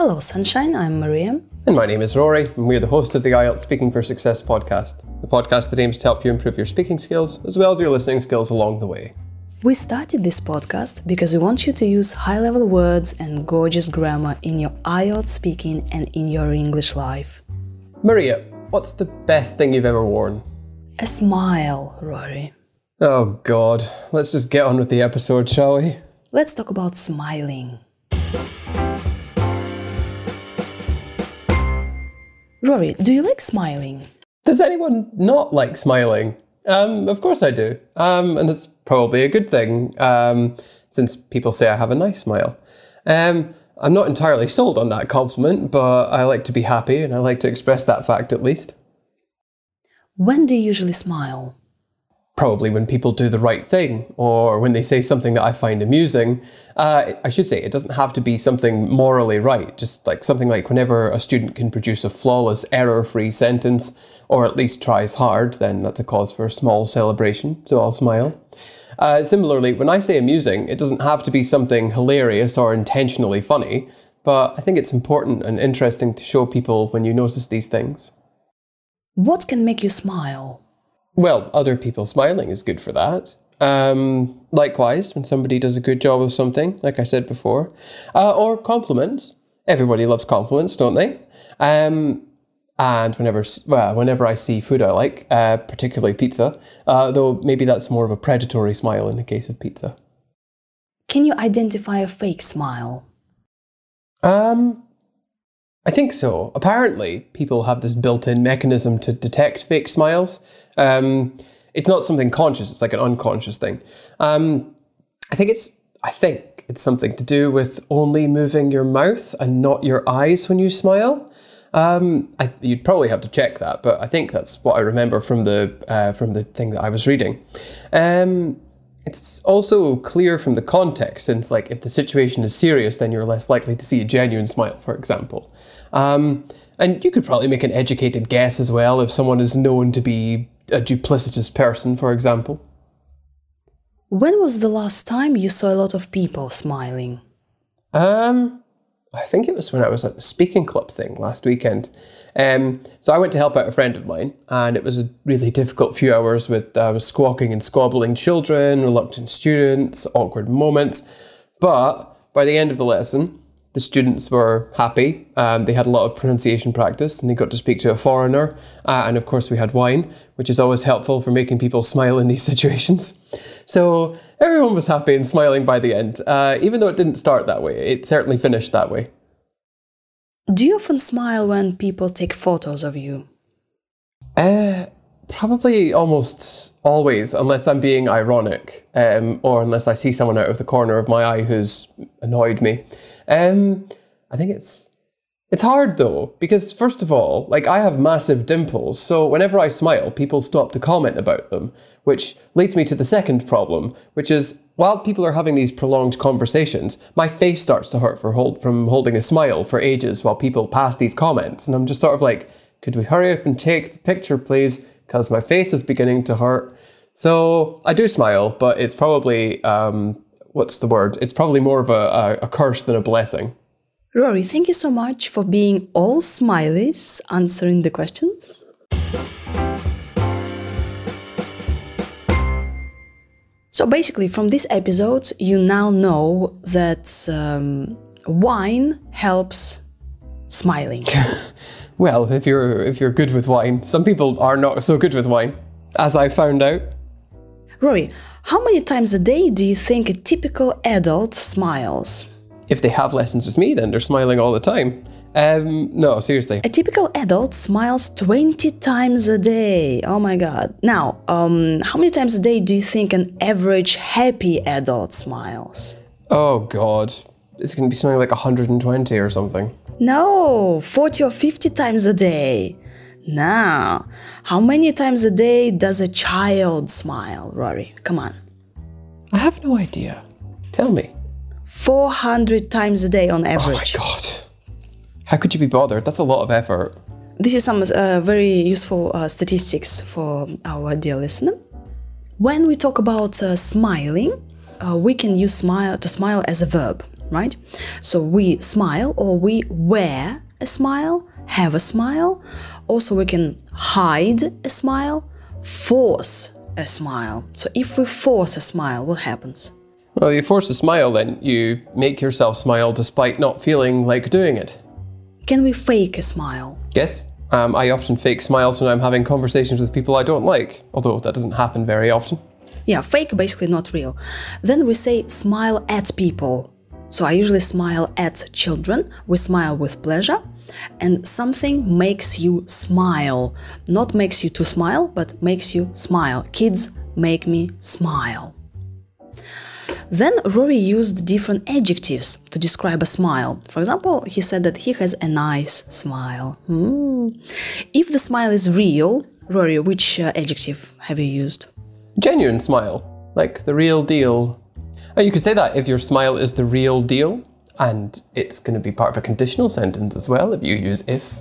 Hello, Sunshine, I'm Maria. And my name is Rory, and we're the host of the IELTS Speaking for Success podcast, the podcast that aims to help you improve your speaking skills as well as your listening skills along the way. We started this podcast because we want you to use high-level words and gorgeous grammar in your IELTS speaking and in your English life. Maria, what's the best thing you've ever worn? A smile, Rory. Oh God, let's just get on with the episode, shall we? Let's talk about smiling. Rory, do you like smiling? Does anyone not like smiling? Of course I do. And it's probably a good thing, since people say I have a nice smile. I'm not entirely sold on that compliment, but I like to be happy and I like to express that fact at least. When do you usually smile? Probably when people do the right thing, or when they say something that I find amusing. I should say, it doesn't have to be something morally right, just like something like whenever a student can produce a flawless, error-free sentence, or at least tries hard, then that's a cause for a small celebration, so I'll smile. Similarly, when I say amusing, it doesn't have to be something hilarious or intentionally funny, but I think it's important and interesting to show people when you notice these things. What can make you smile? Well, other people smiling is good for that. Likewise, when somebody does a good job of something, like I said before, or compliments. Everybody loves compliments, don't they? And whenever I see food I like, particularly pizza, though maybe that's more of a predatory smile in the case of pizza. Can you identify a fake smile? I think so. Apparently, people have this built-in mechanism to detect fake smiles. It's not something conscious, it's like an unconscious thing. I think it's something to do with only moving your mouth and not your eyes when you smile. You'd probably have to check that, but I think that's what I remember from the thing that I was reading. It's also clear from the context, since like if the situation is serious, then you're less likely to see a genuine smile, for example. And you could probably make an educated guess as well if someone is known to be a duplicitous person, for example. When was the last time you saw a lot of people smiling? I think it was when I was at the speaking club thing last weekend. So I went to help out a friend of mine, and it was a really difficult few hours with squawking and squabbling children, reluctant students, awkward moments. But by the end of the lesson, the students were happy. They had a lot of pronunciation practice, and they got to speak to a foreigner. And of course we had wine, which is always helpful for making people smile in these situations. So everyone was happy and smiling by the end. Even though it didn't start that way, it certainly finished that way. Do you often smile when people take photos of you? Probably almost always, unless I'm being ironic, or unless I see someone out of the corner of my eye who's annoyed me. I think it's hard though, because first of all, like I have massive dimples, so whenever I smile, people stop to comment about them, which leads me to the second problem, which is while people are having these prolonged conversations, my face starts to hurt from holding a smile for ages while people pass these comments, and I'm just sort of like, could we hurry up and take the picture, please? Because my face is beginning to hurt. So I do smile, but it's probably, It's probably more of a curse than a blessing. Rory, thank you so much for being all smileys, answering the questions. So basically, from this episode, you now know that wine helps smiling. Well, if you're good with wine. Some people are not so good with wine, as I found out. Rory, how many times a day do you think a typical adult smiles? If they have lessons with me, then they're smiling all the time. No, seriously. A typical adult smiles 20 times a day. Oh my god. Now, how many times a day do you think an average happy adult smiles? Oh god. It's going to be something like 120 or something. No, 40 or 50 times a day. Now, how many times a day does a child smile, Rory? Come on. I have no idea. Tell me. 400 times a day on average. Oh my god. How could you be bothered? That's a lot of effort. This is some very useful statistics for our dear listener. When we talk about smiling, we can use smile as a verb. right? So we smile or we wear a smile, have a smile. Also, we can hide a smile, force a smile. So if we force a smile, what happens? Well, you force a smile, then you make yourself smile despite not feeling like doing it. Can we fake a smile? Yes. I often fake smiles when I'm having conversations with people I don't like, although that doesn't happen very often. Yeah, fake, basically not real. Then we say smile at people. So I usually smile at children. We smile with pleasure. And something makes you smile. Not makes you to smile, but makes you smile. Kids make me smile. Then Rory used different adjectives to describe a smile. For example, he said that he has a nice smile. If the smile is real, Rory, which adjective have you used? Genuine smile, like the real deal. You could say that if your smile is the real deal, and it's going to be part of a conditional sentence as well if you use if.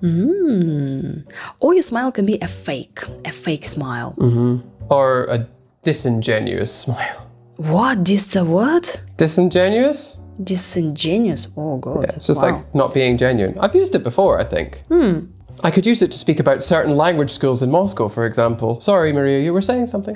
Or your smile can be a fake smile. Or a disingenuous smile. What? The what? Disingenuous? Disingenuous. Oh, God. Yeah, it's just Wow. like not being genuine. I've used it before, I think. I could use it to speak about certain language schools in Moscow, for example. Sorry, Maria, you were saying something?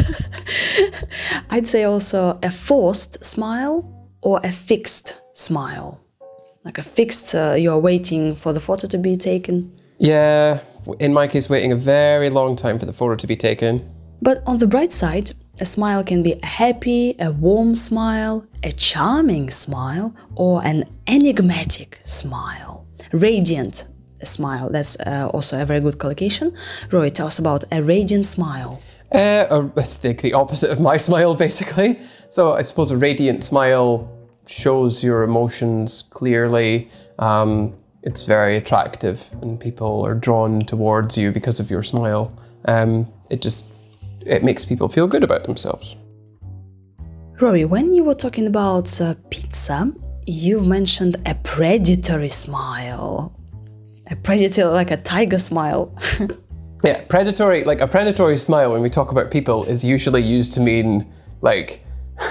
I'd say also a forced smile or a fixed smile. Like a fixed, you're waiting for the photo to be taken. Yeah, in my case, waiting a very long time for the photo to be taken. But on the bright side, a smile can be a happy, a warm smile, a charming smile, or an enigmatic smile. Radiant smile, that's also a very good collocation. Roy, tell us about a radiant smile. It's like the opposite of my smile, basically. So I suppose a radiant smile shows your emotions clearly. It's very attractive and people are drawn towards you because of your smile. It makes people feel good about themselves. Rory, when you were talking about pizza, you've mentioned a predatory smile. A predator, like a tiger smile. Yeah, predatory, like a predatory smile when we talk about people is usually used to mean like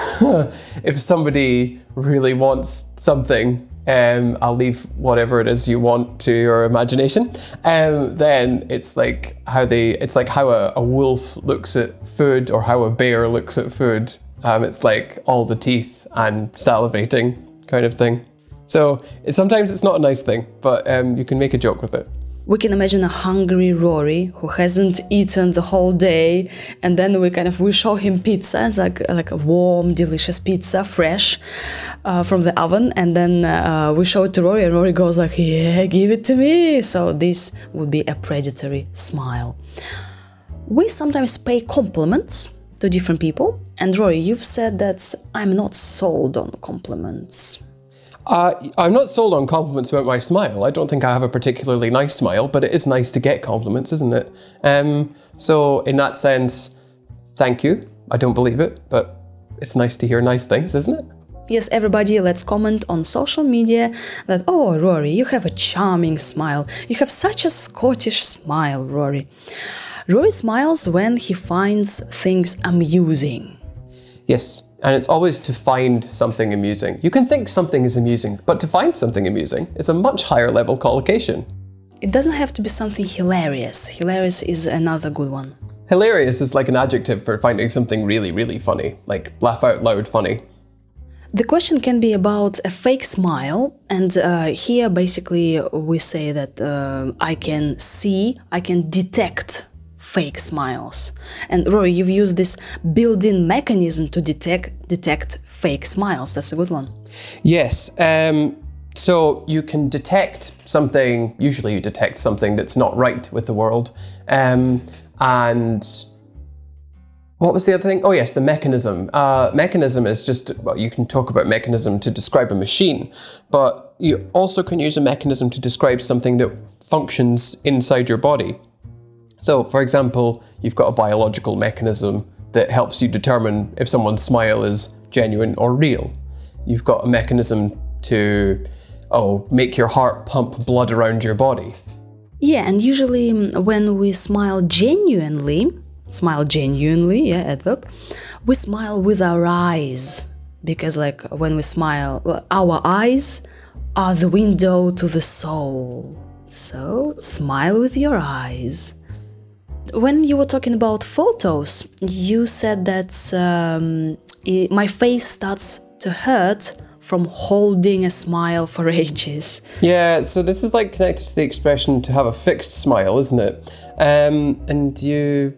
if somebody really wants something, I'll leave whatever it is you want to your imagination. Then it's like how a wolf looks at food or how a bear looks at food. It's like all the teeth and salivating kind of thing. So sometimes it's not a nice thing, but you can make a joke with it. We can imagine a hungry Rory who hasn't eaten the whole day, and then we show him pizza. It's like a warm, delicious pizza, fresh from the oven, and then we show it to Rory, and Rory goes like, "Yeah, give it to me." So this would be a predatory smile. We sometimes pay compliments to different people, and Rory, you've said that I'm not sold on compliments. I'm not sold on compliments about my smile. I don't think I have a particularly nice smile, but it is nice to get compliments, isn't it? So in that sense, thank you. I don't believe it, but it's nice to hear nice things, isn't it? Yes, everybody, let's comment on social media that, oh, Rory, you have a charming smile. You have such a Scottish smile, Rory. Rory smiles when he finds things amusing. Yes. And it's always to find something amusing. You can think something is amusing, but to find something amusing is a much higher level collocation. It doesn't have to be something hilarious. Hilarious is another good one. Hilarious is like an adjective for finding something really, really funny, like laugh out loud funny. The question can be about a fake smile, and here basically we say that I can detect fake smiles. And Rory, you've used this built-in mechanism to detect fake smiles. That's a good one. Yes. So you can detect something, usually you detect something that's not right with the world. And what was the other thing? Oh yes, the mechanism. Mechanism is just, well, you can talk about mechanism to describe a machine, but you also can use a mechanism to describe something that functions inside your body. So, for example, you've got a biological mechanism that helps you determine if someone's smile is genuine or real. You've got a mechanism to, make your heart pump blood around your body. Yeah, and usually when we smile genuinely, yeah, adverb, we smile with our eyes. because like when we smile, well, our eyes are the window to the soul. So smile with your eyes. When you were talking about photos, you said that my face starts to hurt from holding a smile for ages. Yeah, so this is like connected to the expression to have a fixed smile, isn't it? And you,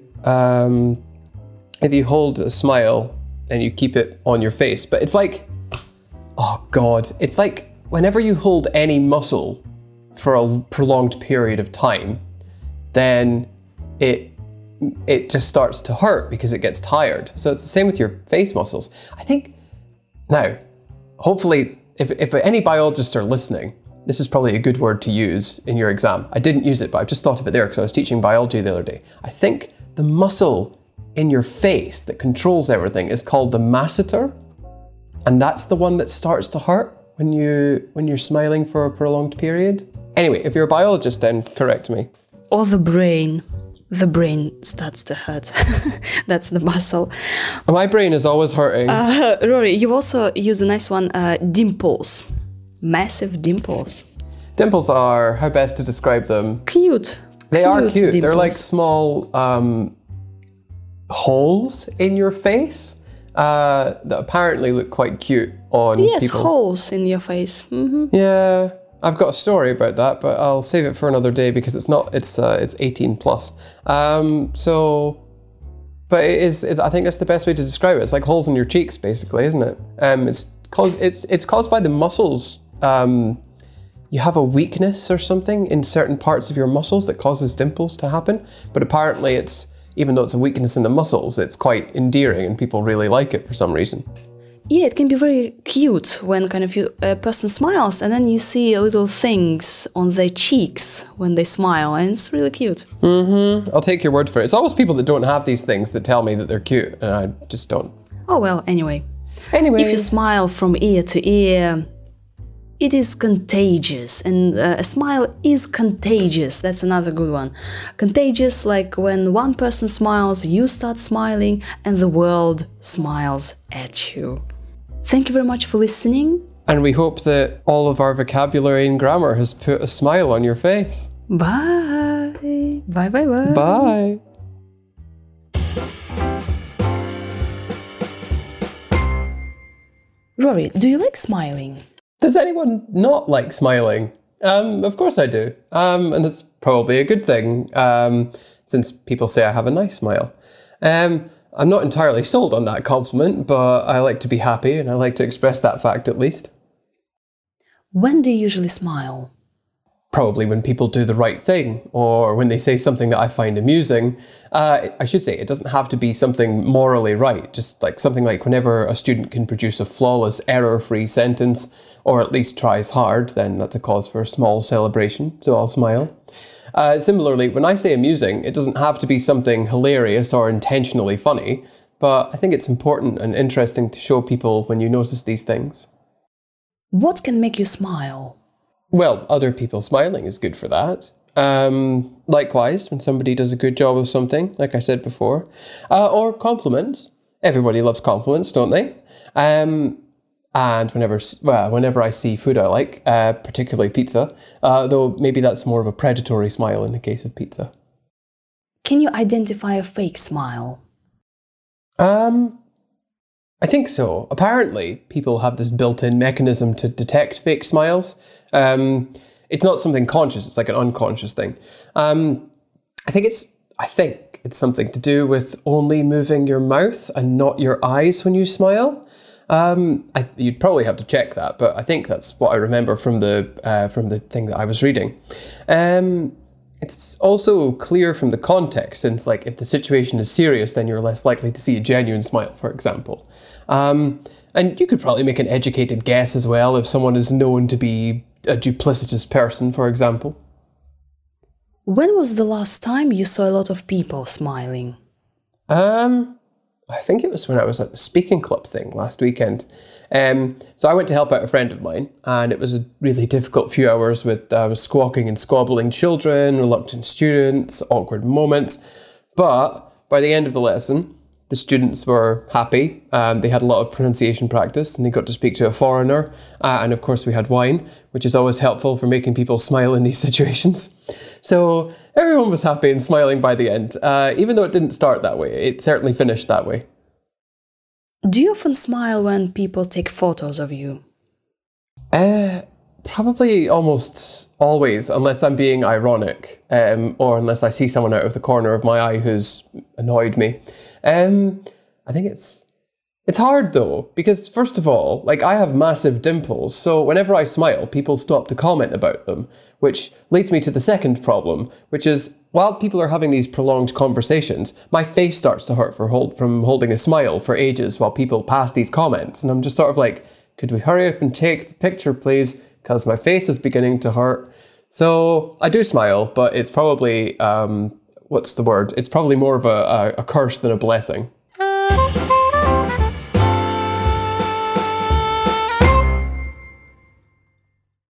if you hold a smile and you keep it on your face, but it's like, oh God, it's like whenever you hold any muscle for a prolonged period of time, then it just starts to hurt because it gets tired. So it's the same with your face muscles. I think, now, hopefully, if any biologists are listening, this is probably a good word to use in your exam. I didn't use it, but I've just thought of it there because I was teaching biology the other day. I think the muscle in your face that controls everything is called the masseter, and that's the one that starts to hurt when you're smiling for a prolonged period. Anyway, if you're a biologist, then correct me. Or the brain. The brain starts to hurt. That's the muscle. My brain is always hurting. Rory, you also use a nice one, dimples. Massive dimples. Dimples are, how best to describe them? Cute. They are cute. Dimples. They're like small holes in your face that apparently look quite cute on people. Yes, holes in your face. Mm-hmm. Yeah. I've got a story about that, but I'll save it for another day because it's 18 plus. But I think that's the best way to describe it. It's like holes in your cheeks, basically, isn't it? It's caused by the muscles. You have a weakness or something in certain parts of your muscles that causes dimples to happen. But apparently even though it's a weakness in the muscles, it's quite endearing and people really like it for some reason. Yeah, it can be very cute when kind of a person smiles and then you see little things on their cheeks when they smile, and it's really cute. Mm-hmm. I'll take your word for it. It's always people that don't have these things that tell me that they're cute, and I just don't. Oh well, anyway. If you smile from ear to ear, it is contagious, and a smile is contagious. That's another good one. Contagious, like when one person smiles, you start smiling, and the world smiles at you. Thank you very much for listening. And we hope that all of our vocabulary and grammar has put a smile on your face. Bye. Bye, bye, bye. Bye. Rory, do you like smiling? Does anyone not like smiling? Of course I do. And it's probably a good thing, since people say I have a nice smile. I'm not entirely sold on that compliment, but I like to be happy and I like to express that fact at least. When do you usually smile? Probably when people do the right thing, or when they say something that I find amusing. I should say, it doesn't have to be something morally right, just like something like whenever a student can produce a flawless, error-free sentence, or at least tries hard, then that's a cause for a small celebration, so I'll smile. Similarly, when I say amusing, it doesn't have to be something hilarious or intentionally funny, but I think it's important and interesting to show people when you notice these things. What can make you smile? Well, other people smiling is good for that. Likewise, when somebody does a good job of something, like I said before, or compliments. Everybody loves compliments, don't they? And whenever I see food I like, particularly pizza, though maybe that's more of a predatory smile in the case of pizza. Can you identify a fake smile? I think so. Apparently, people have this built-in mechanism to detect fake smiles. It's not something conscious, it's like an unconscious thing. I think it's something to do with only moving your mouth and not your eyes when you smile. You'd probably have to check that, but I think that's what I remember from the thing that I was reading. It's also clear from the context, since like if the situation is serious, then you're less likely to see a genuine smile, for example. And you could probably make an educated guess as well if someone is known to be a duplicitous person, for example. When was the last time you saw a lot of people smiling? I think it was when I was at the speaking club thing last weekend. So I went to help out a friend of mine, and it was a really difficult few hours with squawking and squabbling children, reluctant students, awkward moments. But by the end of the lesson, The students were happy. They had a lot of pronunciation practice and they got to speak to a foreigner. And of course we had wine, which is always helpful for making people smile in these situations. So everyone was happy and smiling by the end. Even though it didn't start that way, it certainly finished that way. Do you often smile when people take photos of you? Probably almost always, unless I'm being ironic, or unless I see someone out of the corner of my eye who's annoyed me. I think it's hard though, because first of all, like I have massive dimples, so whenever I smile, people stop to comment about them, which leads me to the second problem, which is while people are having these prolonged conversations, my face starts to hurt from holding a smile for ages while people pass these comments, and I'm just sort of like, could we hurry up and take the picture, please? Because my face is beginning to hurt. So I do smile, but it's probably, what's the word? It's probably more of a curse than a blessing.